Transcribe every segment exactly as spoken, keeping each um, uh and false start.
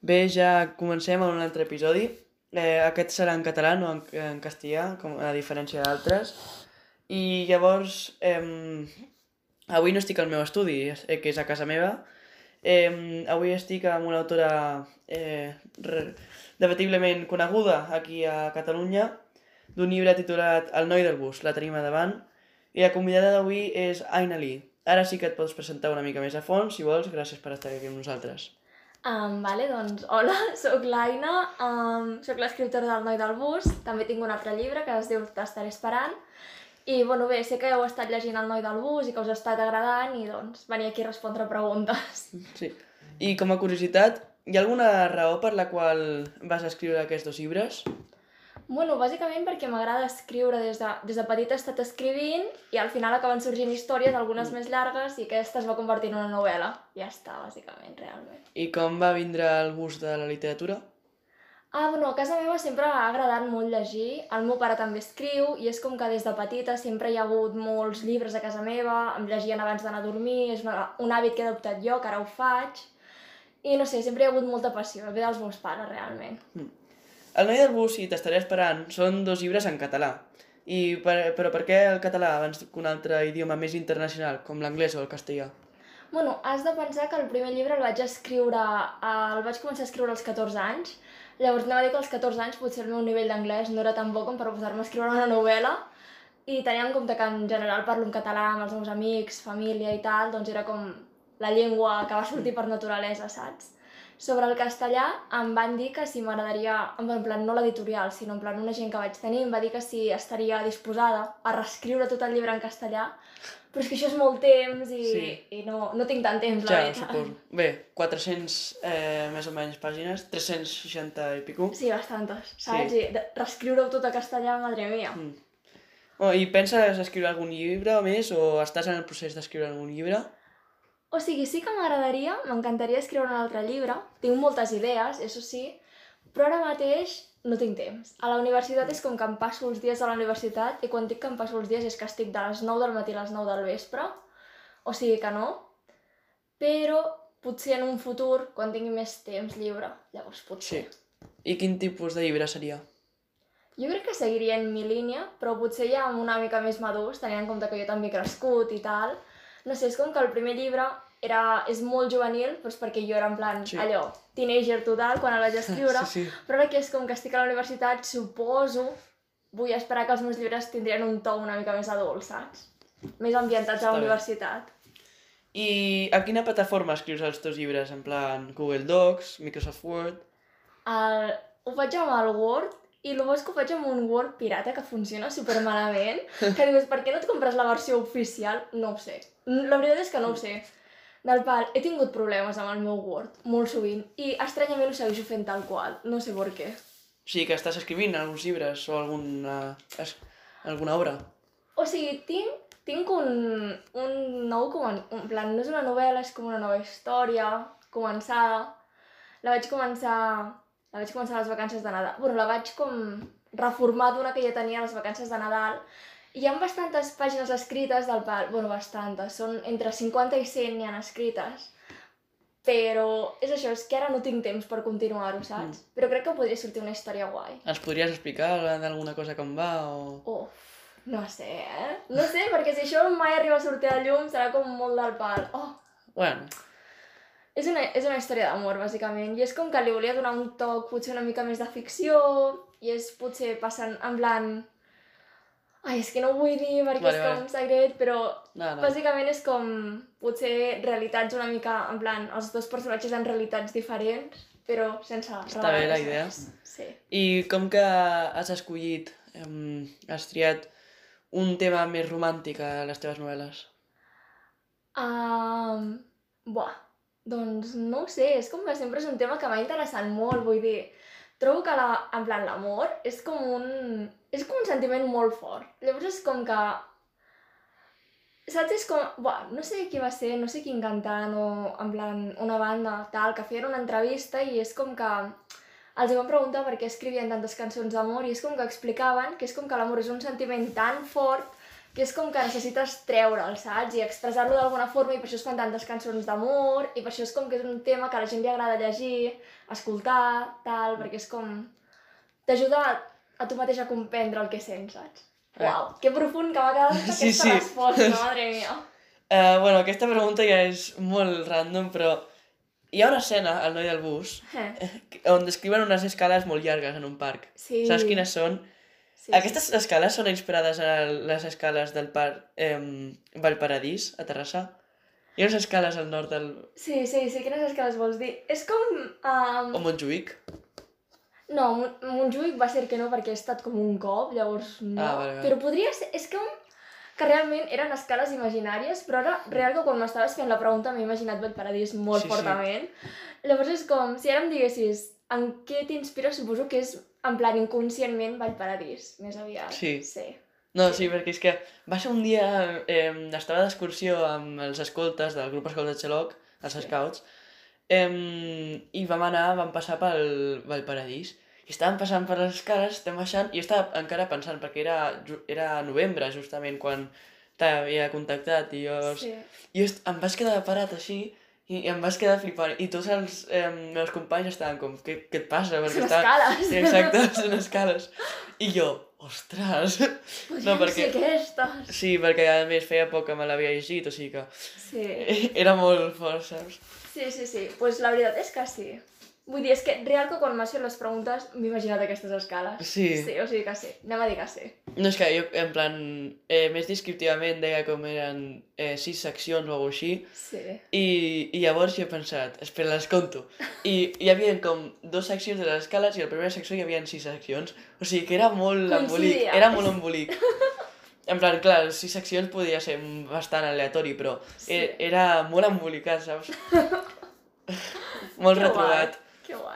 Bé, ja comencem amb un altre episodi. Eh, aquest serà en català, no en, en castellà, com a diferència d'altres. I llavors, eh, avui no estic al meu estudi, eh, que és a casa meva. Eh, avui estic amb una autora eh, re, debatiblement coneguda aquí a Catalunya, d'un llibre titulat El noi del bus, la tenim a davant. I la convidada d'avui és Aina Lee. Ara sí que et pots presentar una mica més a fons, si vols. Gràcies per estar aquí amb nosaltres. Um, vale, doncs, hola, sóc l'Aina, um, sóc l'escriptora del Noi del Bus, també tinc un altre llibre que es diu T'estaré esperant, i bueno, bé, sé que heu estat llegint El Noi del Bus i que us ha estat agradant i doncs venir aquí a respondre preguntes. Sí. I com a curiositat, hi ha alguna raó per la qual vas escriure aquests dos llibres? Bueno, bàsicament perquè m'agrada escriure des de, des de petita he estat escrivint i al final acaben sorgint històries, algunes mm. més llargues, i aquesta es va convertir en una novel·la. Ja està, bàsicament, realment. I com va vindre el gust de la literatura? Ah, bueno, a casa meva sempre ha agradat molt llegir, el meu pare també escriu, i és com que des de petita sempre hi ha hagut molts llibres a casa meva, em llegien abans d'anar a dormir, és una, un hàbit que he adoptat jo, que ara ho faig, i no sé, sempre hi ha hagut molta passió, ve dels meus pares, realment. Mm. El noi del bus i T'estaré esperant són dos llibres en català. I per, però per què el català abans que un altre idioma més internacional, com l'anglès o el castellà? Bueno, has de pensar que el primer llibre el vaig escriure, el vaig començar a escriure als catorze anys, llavors anava a dir que als catorze anys potser el meu nivell d'anglès no era tan bo com per posar-me a escriure una novel·la, i tenia en compte que en general parlo en català amb els meus amics, família i tal, doncs era com la llengua que va sortir per naturalesa, saps? Sobre el castellà em van dir que si m'agradaria, en plan no l'editorial, sinó en plan una gent que vaig tenir, em va dir que si estaria disposada a reescriure tot el llibre en castellà, però és que això és molt temps i, sí. i no, no tinc tant temps, la ja, veritat. Suposo. Bé, quatre-cents eh, més o menys pàgines, tres-cents seixanta i pico. Sí, bastantes, saps? Sí. I reescriure-ho tot a castellà, madre mia. Mm. Oh, I penses escriure algun llibre o més, o estàs en el procés d'escriure algun llibre? O sigui, sí que m'agradaria, m'encantaria escriure un altre llibre, tinc moltes idees, això sí, però ara mateix no tinc temps. A la universitat és com que em passo els dies a la universitat, i quan dic que em passo els dies és que estic de les nou del matí a les nou del vespre, o sigui que no, però potser en un futur, quan tingui més temps lliure, llavors potser. Sí. I quin tipus de llibre seria? Jo crec que seguiria en mi línia, però potser ja una mica més madurs, tenint en compte que jo també he crescut i tal. No sé, és com que el primer llibre era, és molt juvenil, doncs perquè jo era en plan, sí. allò, teenager total, quan el vaig escriure, sí, sí. Però ara que és com que estic a la universitat, suposo, vull esperar que els meus llibres tindrien un to una mica més adult, saps? Més ambientats Està a la bé. Universitat. I a quina plataforma escrius els teus llibres? En plan Google Docs, Microsoft Word? El... Ho faig amb el Word, i el bo és que ho faig amb un Word pirata que funciona supermalament, que dius, per què no et compres la versió oficial? No ho sé. La veritat és que no ho sé. Del pal, he tingut problemes amb el meu Word, molt sovint, i estranyament ho segueixo fent tal qual, no sé per què. O sigui que estàs escrivint alguns llibres o alguna, alguna obra? O sigui, tinc, tinc un, un nou, en plan, no és una novel·la, és com una nova història, començada. La vaig començar, la vaig començar a les vacances de Nadal. Bueno, la vaig com reformar d'una que ja tenia a les vacances de Nadal. Hi ha bastantes pàgines escrites del pal, bueno, bastantes, són entre cinquanta i cent n'hi ha escrites, però és això, és que ara no tinc temps per continuar-ho, saps? Mm. Però crec que podria sortir una història guai. Els podries explicar d'alguna cosa com va o...? Uf, no sé, eh? No sé, perquè si això mai arriba a sortir a la llum serà com molt del pal. Oh. Bueno. És una, és una història d'amor, bàsicament, i és com que li volia donar un toc potser una mica més de ficció, i és potser passant en plan... Ai, és que no ho vull dir perquè vale, és com vale. Secret, però no, no. Bàsicament és com potser realitats una mica, en plan, els dos personatges en realitats diferents, però sense... Està bé la idea. Sí. I com que has escollit, um, has triat un tema més romàntic a les teves novel·les? Um, buah, doncs no ho sé, és com que sempre és un tema que m'ha interessat molt, vull dir... Trobo que la, en plan l'amor és com un... és com un sentiment molt fort. Llavors és com que... Saps? És com... Buah, no sé qui va ser, no sé quin cantant o en plan una banda tal, que feien una entrevista i és com que els van preguntar per què escrivien tantes cançons d'amor i és com que explicaven que és com que l'amor és un sentiment tan fort que és com que necessites treure'l, saps? I expressar-lo d'alguna forma, i per això es fan tantes cançons d'amor, i per això és com que és un tema que a la gent li agrada llegir, escoltar, tal, perquè és com... t'ajuda a tu mateix a comprendre el que sents, saps? Eh. Uau, que profund que m'ha quedat aquesta Sí, sí. resposta, madre mia. Uh, bueno, aquesta pregunta ja és molt random, però hi ha una escena al Noi del bus Eh. on descriuen unes escales molt llargues en un parc. Sí. Saps quines són? Sí, Aquestes escales són inspirades en les escales del parc eh, Vallparadís, a Terrassa. Hi ha unes escales al nord del... Sí, sí, sí, quines escales vols dir? És com... Um... o Montjuïc. No, Mon- Montjuïc va ser que no, perquè he estat com un cop, llavors no. Ah, vale, vale. Però podria ser... És com que realment eren escales imaginàries, però ara, real que quan m'estaves fent la pregunta m'he imaginat Vallparadís molt Sí, sí. fortament. Llavors és com, si ara em diguessis en què t'inspira, suposo que és en plan inconscientment Vallparadís, més aviat. Sí. Sí. No, sí, perquè és que va ser un dia... Eh, estava d'excursió amb els escoltes del grup Escolta Xeloc, els Sí. scouts, eh, i vam anar, vam passar pel Vallparadís, i estàvem passant per les escales, estem baixant, i jo estava encara pensant, perquè era, ju- era novembre, justament, quan t'havia contactat, i jo... Sí. I jo est- em vaig quedar parat així, i em vaig quedar flipant, i tots els eh, meus companys estaven com, què, què et passa? Perquè Són estava- escales. Sí, exacte, són escales. I jo, ostres! Podríem No, perquè- ser aquestes. Sí, perquè a més feia poc que me l'havia llegit, o sigui que Sí. era molt fort, saps? Sí, sí, sí. Doncs pues la veritat és que sí. Vull dir, és que real que quan m'has fet les preguntes m'he imaginat aquestes escales. Sí. Sí, o sigui que sí. Anem a dir que sí. No, és que jo, en plan, eh, més descriptivament deia com eren eh, sis seccions o alguna així, Sí. i, i llavors jo he pensat, espera, les conto. I hi havia com dos seccions de les escales i a la primera secció hi havia sis seccions. O sigui que era molt embolic, Coincidia. era molt embolic. En plan, clar, sis seccions podia ser bastant aleatori, però Sí. e- era molt embolicat, saps? Molt Que retrobat. guai. Que guai.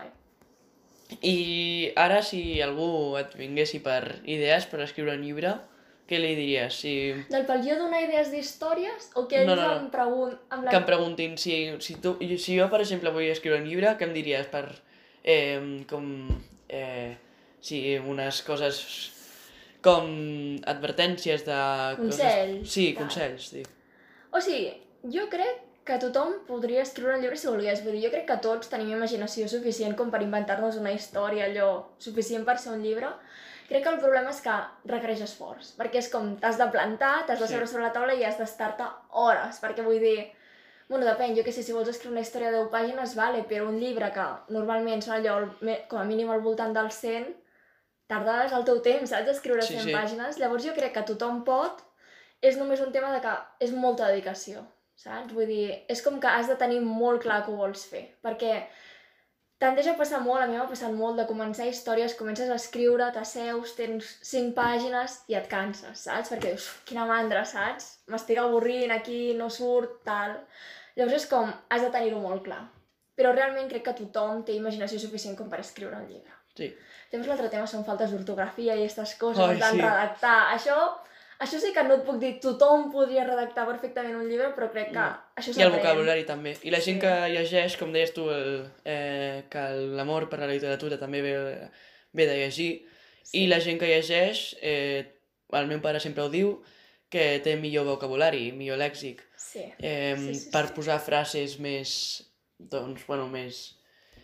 I ara, si algú et vinguessi per idees per escriure un llibre, què li diries? Si... Del pel jo donar idees d'històries o que ells No, no, no. em pregunten... Amb la... Que em preguntin si, si, tu, si jo, per exemple, vull escriure un llibre, què em diries per... Eh, com... Eh, sí, unes coses com advertències de... Consells, Coses... Sí, tal. consells, dic. O sigui, jo crec que tothom podria escriure un llibre si volgués. Vull dir, jo crec que tots tenim imaginació suficient com per inventar-nos una història, allò suficient per ser un llibre. Crec que el problema és que requereix esforç, perquè és com t'has de plantar, t'has de Sí. seure sobre la taula i has d'estar-te hores, perquè vull dir... Bueno, depèn, jo què sé, si vols escriure una història de deu pàgines, vale, però un llibre que normalment són allò, al me- com a mínim al voltant dels cent, tardes el teu temps, saps, d'escriure Sí, cent sí. pàgines. Llavors jo crec que tothom pot, és només un tema de que és molta dedicació, saps? Vull dir, és com que has de tenir molt clar que ho vols fer, perquè tendeix a passar molt, a mi m'ha passat molt, de començar històries, comences a escriure, t'asseus, tens cinc pàgines i et canses, saps? Perquè dius, "Uf, quina mandra, saps? M'estic avorrint aquí, no surt, tal... Llavors és com, has de tenir-ho molt clar. Però realment crec que tothom té imaginació suficient com per escriure un llibre. Sí. Llavors l'altre tema són faltes d'ortografia i aquestes coses, Ai, en plan sí. redactar. Això, això sí que no et puc dir, tothom podria redactar perfectament un llibre, però crec que No. això I el s'aprèn. vocabulari també. I la gent Sí. que llegeix, com deies tu, el, eh, que l'amor per la literatura també ve, ve de llegir. Sí. I la gent que llegeix, eh, el meu pare sempre ho diu, que té millor vocabulari, millor lèxic, Sí. eh, Sí, sí, per sí. posar frases més, doncs, bueno, més,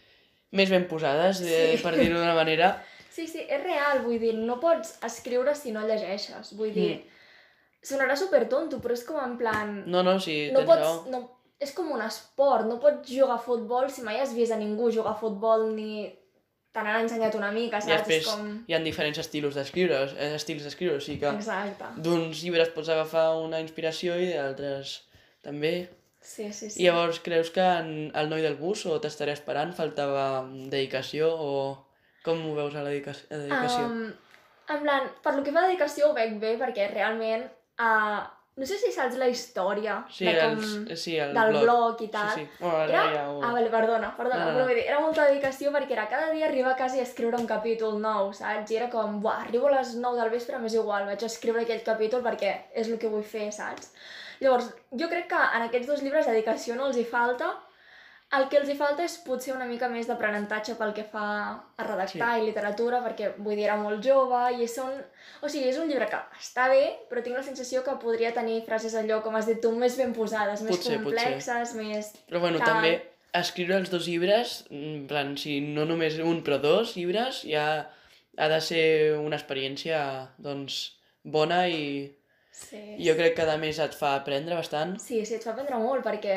més ben posades, eh, Sí. per dir-ho d'una manera. Sí, sí, és real, vull dir, no pots escriure si no llegeixes, vull dir, Mm. sonarà supertonto, però és com en plan... No, no, sí, no tens pots, raó. no, és com un esport, no pots jugar a futbol si mai has vist a ningú jugar a futbol ni te n'han ensenyat una mica, I saps? després És com... hi ha diferents estils d'escriure, eh, estils d'escriure, o sigui que Exacte. d'uns llibres pots agafar una inspiració i d'altres també. Sí, sí, sí. I llavors creus que en el noi del bus o t'estaré esperant faltava dedicació o com ho veus a la dedica a dedicació? Um, en plan, per lo que fa a dedicació ho veig bé, perquè realment, uh, no sé si saps la història sí, de com, els, sí, el del blog. blog i tal. Sí, sí. Bueno, ara Era... ja ho... Ah, vale, perdona, perdona, No, no, no. però vull dir, era molta dedicació perquè era cada dia arribar a casa i escriure un capítol nou, saps? I era com, buah, arribo a les nou del vespre, m'és igual, vaig a escriure aquell capítol perquè és el que vull fer, saps? Llavors, jo crec que en aquests dos llibres dedicació no els hi falta, El que els hi falta és potser una mica més d'aprenentatge pel que fa a redactar Sí. i literatura, perquè vull dir, era molt jove i són... O sigui, és un llibre que està bé, però tinc la sensació que podria tenir frases allò, com has dit tu, més ben posades, més Potser, potser. complexes, més... Però bueno, tal. també escriure els dos llibres, en plan, si no només un, però dos llibres, ja ha de ser una experiència, doncs, bona i Sí, jo crec que a més et fa aprendre bastant. sí, sí, et fa aprendre molt, perquè...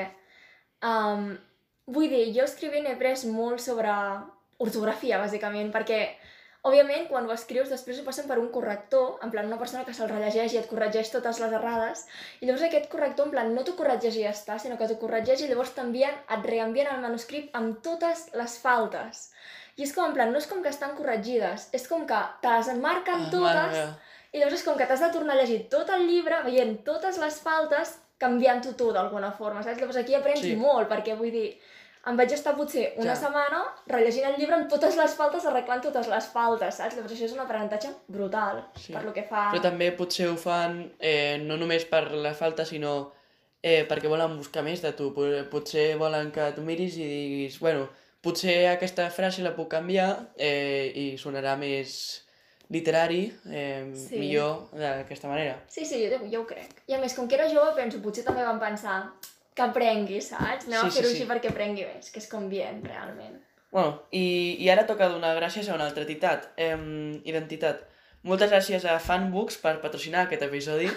Um, vull dir, jo escrivint he après molt sobre ortografia, bàsicament, perquè, òbviament, quan ho escrius, després ho passen per un corrector, en plan, una persona que se'l rellegeix i et corregeix totes les errades, i llavors aquest corrector, en plan, no t'ho corregeix i ja està, sinó que t'ho corregeix i llavors t'envien, et reenvien el manuscrit amb totes les faltes. I és com, en plan, no és com que estan corregides, és com que te les marquen Ah, totes, mare meva. i llavors és com que t'has de tornar a llegir tot el llibre, veient totes les faltes, canviant-ho tu d'alguna forma, saps? Llavors aquí aprens Sí. molt, perquè vull dir, em vaig estar potser una Ja. setmana rellegint el llibre amb totes les faltes, arreglant totes les faltes, saps? Llavors això és un aprenentatge brutal, Sí. per lo que fa... Però també potser ho fan eh, no només per la falta, sinó eh, perquè volen buscar més de tu. Pot- Potser volen que tu miris i diguis, bueno, potser aquesta frase la puc canviar eh, i sonarà més literari, eh, Sí. millor d'aquesta manera. Sí, sí, jo, jo ho crec. I a més, com que era jove, penso, potser també van pensar que aprengui, saps? Anem Sí, a sí, fer-ho sí. així perquè aprengui més, que és convient, realment. Bueno, i, i ara toca donar gràcies a una altra entitat. Eh, identitat. Moltes gràcies a Fanbooks per patrocinar aquest episodi.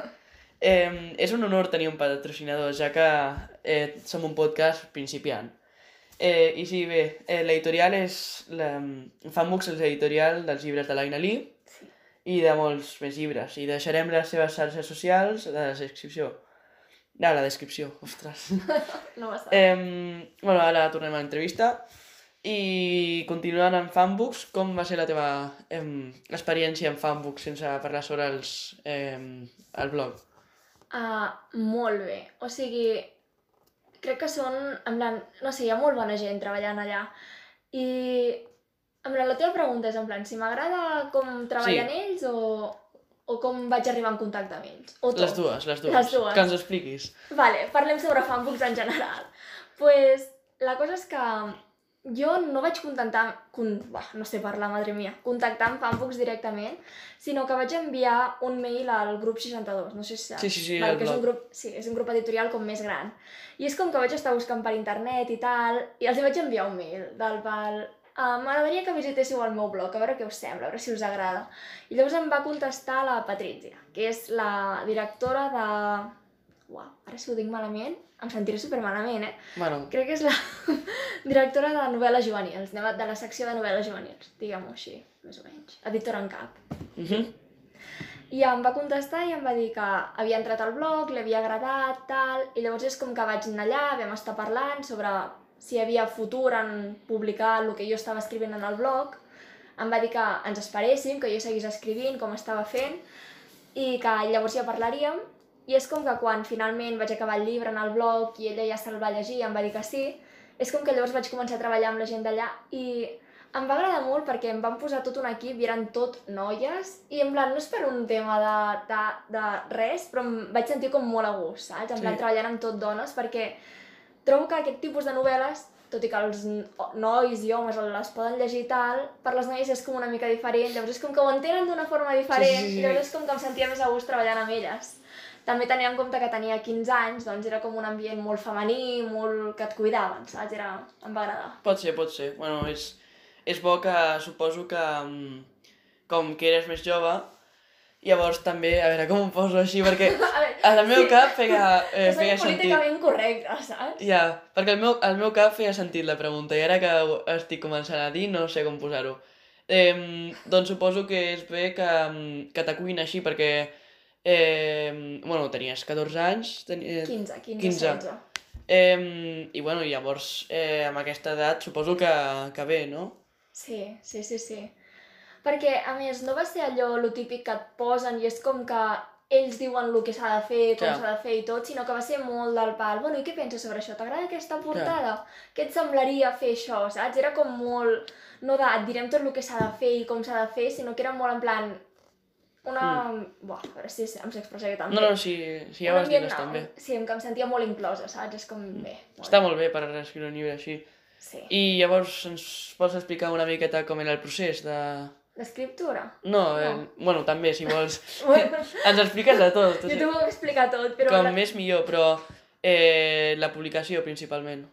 Eh, és un honor tenir un patrocinador, ja que eh, som un podcast principiant. Eh, I sí, bé, eh, l'editorial és... La, Fanbooks és l'editorial dels llibres de l'Aina Lee Sí. i de molts més llibres. I deixarem les seves xarxes socials a la descripció. No, a la descripció, ostres. No va estar. Eh, bueno, ara tornem a l'entrevista. I continuant amb Fanbooks, com va ser la teva eh, experiència amb Fanbooks sense parlar sobre els, eh, el blog? Uh, molt bé. O sigui, crec que són, en plan, no sé, hi ha molt bona gent treballant allà. I, en plan, la teva pregunta és, en plan, si m'agrada com treballen Sí. ells o, o com vaig arribar en contacte amb ells? O tot? Les dues, les dues. Les dues. Que ens ho expliquis. Vale, parlem sobre Fanbooks en general. Pues, la cosa és que jo no vaig contactar, con, bah, no sé parlar, madre mia, contactar amb Fanbooks directament, sinó que vaig enviar un mail al grup seixanta-dos, no sé si saps. Sí, sí, sí, vale, el que és un blog. grup, sí, és un grup editorial com més gran. I és com que vaig estar buscant per internet i tal, i els hi vaig enviar un mail del pal, ah, m'agradaria que visitéssiu el meu blog, a veure què us sembla, a veure si us agrada. I llavors em va contestar la Patrizia, que és la directora de... Uau, ara si ho dic malament, em sentiré supermalament, eh? Bueno, Crec que és la directora de novel·les juvenils, de la secció de novel·les juvenils, diguem-ho així, més o menys, editora en cap. uh -huh. I em va contestar i em va dir que havia entrat al blog, li havia agradat, tal, i llavors és com que vaig anar allà, vam estar parlant sobre si hi havia futur en publicar el que jo estava escrivint en el blog, em va dir que ens esperéssim, que jo seguís escrivint com estava fent, i que llavors ja parlaríem, i és com que quan finalment vaig acabar el llibre en el blog i ella ja se'l va llegir i em va dir que sí, és com que llavors vaig començar a treballar amb la gent d'allà i em va agradar molt perquè em van posar tot un equip i eren tot noies i en plan, no és per un tema de, de, de res, però em vaig sentir com molt a gust, saps? En plan, Sí. treballant amb tot dones perquè trobo que aquest tipus de novel·les, tot i que els nois i homes les poden llegir i tal, per les noies és com una mica diferent, llavors és com que ho entenen d'una forma diferent, Sí, sí, sí. i llavors és com que em sentia més a gust treballant amb elles. També tenint en compte que tenia quinze anys, doncs era com un ambient molt femení, molt que et cuidaven, saps? Era... em va agradar. Pot ser, pot ser. Bueno, és, és bo que suposo que mm, com que eres més jove, llavors també, a veure com ho poso així, perquè A veure, al meu sí. cap feia, eh, És feia sentit... políticament correcte, saps? Ja, perquè al meu, al meu cap feia sentit la pregunta i ara que ho estic començant a dir no sé com posar-ho. Eh, doncs suposo que és bé que, mm, que t'acullin així perquè eh, bueno, tenies catorze anys, teni, eh, quinze, quinze, quinze. setze. Eh, I bueno, llavors eh, amb aquesta edat suposo que, que bé, no? Sí, sí, sí, sí. Perquè, a més, no va ser allò lo típic que et posen i és com que ells diuen el que s'ha de fer, com Clar. s'ha de fer i tot, sinó que va ser molt del pal. Bueno, i què penses sobre això? T'agrada aquesta portada? Què et semblaria fer això, saps? Era com molt... No de et direm tot el que s'ha de fer i com s'ha de fer, sinó que era molt en plan... una... Buah, a veure si em sé expressar jo també. No, no, si ja ho has dit bastant bé. Sí, que em sentia molt inclosa, saps? És com bé. Està molt bé per escriure un llibre així. Sí. I llavors ens pots explicar una miqueta com era el procés de... D'escriptura? No, eh, bueno, també, si vols. Ens expliques de tot. Jo t'ho vull explicar tot, però... Com més millor, però eh, la publicació principalment.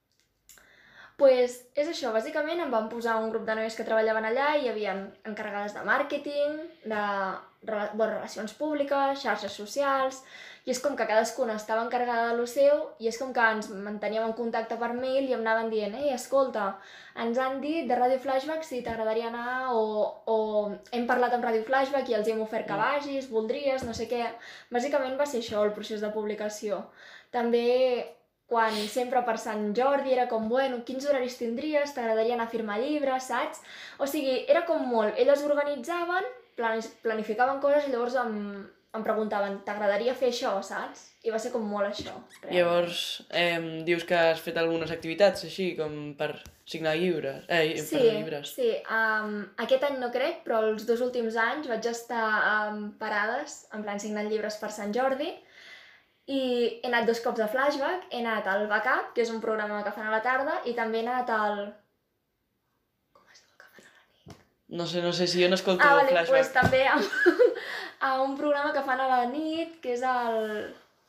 Pues és això, bàsicament em van posar un grup de noies que treballaven allà i hi havia encarregades de màrqueting, de bueno, relacions públiques, xarxes socials, i és com que cadascuna estava encarregada de lo seu i és com que ens manteníem en contacte per mail i em anaven dient ei, escolta, ens han dit de Ràdio Flashback si t'agradaria anar o, o hem parlat amb Ràdio Flashback i els hem ofert que vagis, voldries, no sé què. Bàsicament va ser això el procés de publicació. També quan sempre per Sant Jordi era com, bueno, quins horaris tindries, t'agradaria anar a firmar llibres, saps? O sigui, era com molt, elles organitzaven, planificaven coses i llavors em, em preguntaven, t'agradaria fer això, saps? I va ser com molt això. Realment. Llavors, eh, dius que has fet algunes activitats així, com per signar llibres, eh, sí, per llibres. Sí, um, aquest any no crec, però els dos últims anys vaig estar um, parades, en plan signant llibres per Sant Jordi, i he anat dos cops a Flashback, he anat al Backup, que és un programa que fan a la tarda, i també he anat al... Com es diu el que fan a la nit? No sé, no sé, si jo no escolto ah, vale, Flashback. Pues també a, a un programa que fan a la nit, que és el...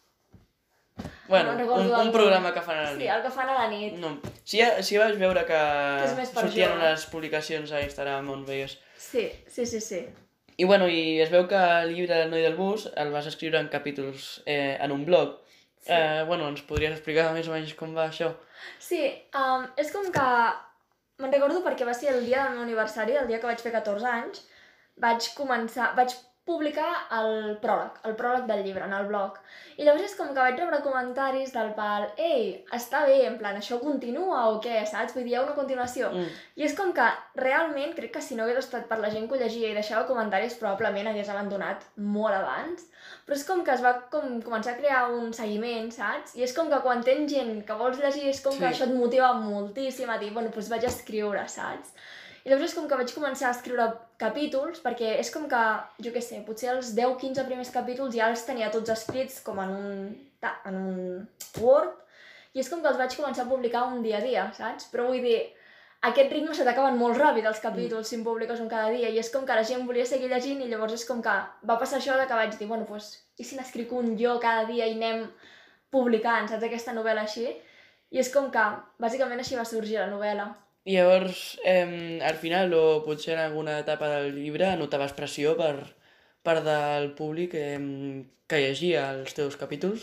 Bueno, no un, un programa que fan a la nit. Sí, el que fan a la nit. No. Sí, sí vas veure que, que sortien unes publicacions a Instagram on veies. Sí, sí, sí, sí. I bueno, i es veu que el llibre del noi del bus el vas escriure en capítols eh, en un blog. Sí. Eh, bueno, ens podries explicar més o menys com va això? Sí, um, és com que... Me'n recordo perquè va ser el dia del meu aniversari, el dia que vaig fer catorze anys, vaig començar... vaig publicar el pròleg, el pròleg del llibre, en el blog. I llavors és com que vaig rebre comentaris del pal, ei, està bé, en plan, això continua o què, saps? Vull dir, hi ha una continuació. Mm. I és com que realment crec que si no hagués estat per la gent que ho llegia i deixava comentaris probablement hagués abandonat molt abans, però és com que es va com, començar a crear un seguiment, saps? I és com que quan tens gent que vols llegir és com sí. que això et motiva moltíssim a dir, bueno, doncs vaig escriure, saps? I llavors és com que vaig començar a escriure capítols, perquè és com que, jo què sé, potser els deu quinze primers capítols ja els tenia tots escrits com en un, en un Word, i és com que els vaig començar a publicar un dia a dia, saps? Però vull dir, aquest ritme se t'acaben molt ràpid els capítols mm. si en publiques un cada dia, i és com que la gent volia seguir llegint, i llavors és com que va passar això de que vaig dir, bueno, doncs, i si n'escric un jo cada dia i anem publicant, saps, aquesta novel·la així? I és com que, bàsicament, així va sorgir la novel·la. I llavors, eh, al final, o potser en alguna etapa del llibre, notaves pressió per part del públic eh, que llegia els teus capítols?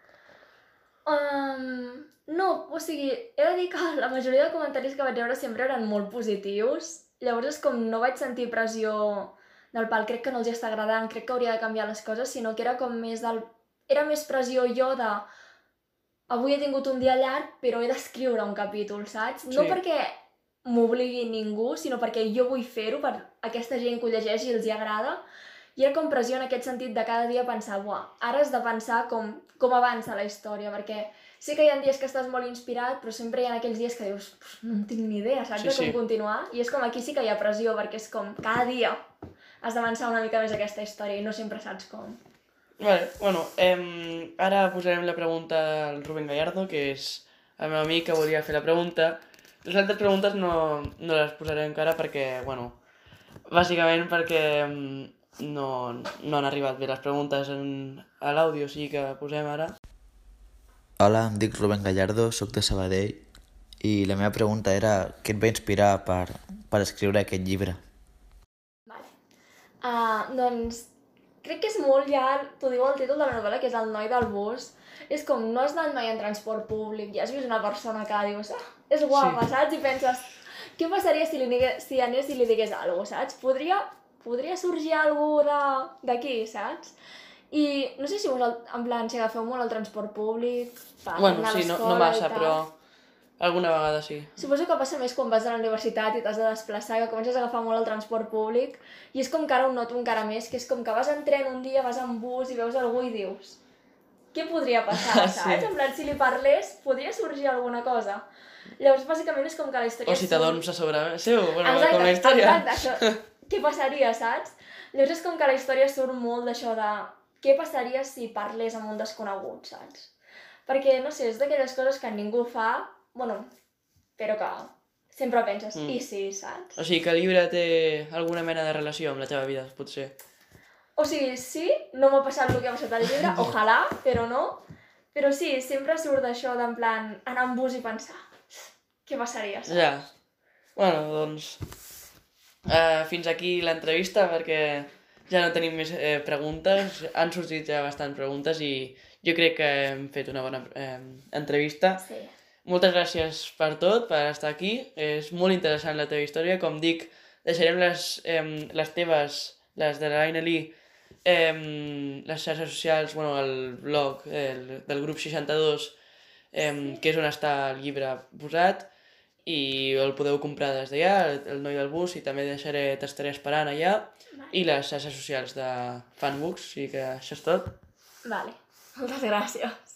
Um, no, o sigui, he de dir que la majoria de comentaris que vaig veure sempre eren molt positius, llavors és com no vaig sentir pressió del pal, crec que no els està agradant, crec que hauria de canviar les coses, sinó que era com més del... Era més pressió jo de... Avui he tingut un dia llarg, però he d'escriure un capítol, saps? Sí. No perquè m'obligui ningú, sinó perquè jo vull fer-ho per aquesta gent que ho llegeix i els hi agrada. I era com pressió en aquest sentit de cada dia pensar, buah, ara has de pensar com, com avança la història, perquè sé que hi ha dies que estàs molt inspirat, però sempre hi ha aquells dies que dius, no en tinc ni idea, saps, sí, de com sí. continuar? I és com aquí sí que hi ha pressió, perquè és com cada dia has d'avançar una mica més aquesta història i no sempre saps com. Vale, bueno, eh, ara posarem la pregunta al Rubén Gallardo, que és el meu amic que volia fer la pregunta. Les altres preguntes no, no les posaré encara perquè, bueno, bàsicament perquè no, no han arribat bé les preguntes en, a l'àudio, o sigui que posem ara. Hola, em dic Rubén Gallardo, soc de Sabadell i la meva pregunta era què et va inspirar per, per escriure aquest llibre? Vale. Uh, doncs crec que és molt ja, t'ho diu el títol de la novel·la, que és El noi del bus. És com, no has anat mai en transport públic i has vist una persona que dius, ah, és guapa, sí. saps? I penses, què passaria si, li digués, si anés i li digués alguna cosa, saps? Podria, podria sorgir alguna d'aquí, saps? I no sé si vos, en plan, si agafeu molt el transport públic, per bueno, anar sí, a l'escola no, no massa, i tal. però alguna vegada sí. Suposo que passa més quan vas a la universitat i t'has de desplaçar, que comences a agafar molt el transport públic, i és com que ara ho noto encara més, que és com que vas en tren un dia, vas en bus i veus algú i dius, què podria passar, saps? Sí. En plan, si li parlés, podria sorgir alguna cosa. Llavors, bàsicament, és com que la història... O si t'adorms a sobre seu, bueno, exacte, com la història. Exacte, això. què passaria, saps? Llavors és com que la història surt molt d'això de què passaria si parlés amb un desconegut, saps? Perquè, no sé, és d'aquelles coses que ningú fa, bueno, però que sempre penses, Mm. i sí, saps? O sigui que el llibre té alguna mena de relació amb la teva vida, potser. O sigui, sí, no m'ha passat el que ha passat al llibre, ojalà, però no. Però sí, sempre surt d'això d'en plan anar en bus i pensar què passaria, saps? Ja. Bueno, doncs... Uh, fins aquí l'entrevista, perquè ja no tenim més eh, preguntes. Han sortit ja bastant preguntes i jo crec que hem fet una bona eh, entrevista. Sí. Moltes gràcies per tot, per estar aquí. És molt interessant la teva història. Com dic, deixarem les, eh, les teves, les de l'Aina Lee, eh, les xarxes socials, bueno, el blog el, del grup seixanta-dos, eh, que és on està el llibre posat, i el podeu comprar des d'allà, el, el noi del bus, i també deixaré, t'estaré esperant allà, Vale. i les xarxes socials de Fanbooks, o sigui que això és tot. Vale. Moltes gràcies.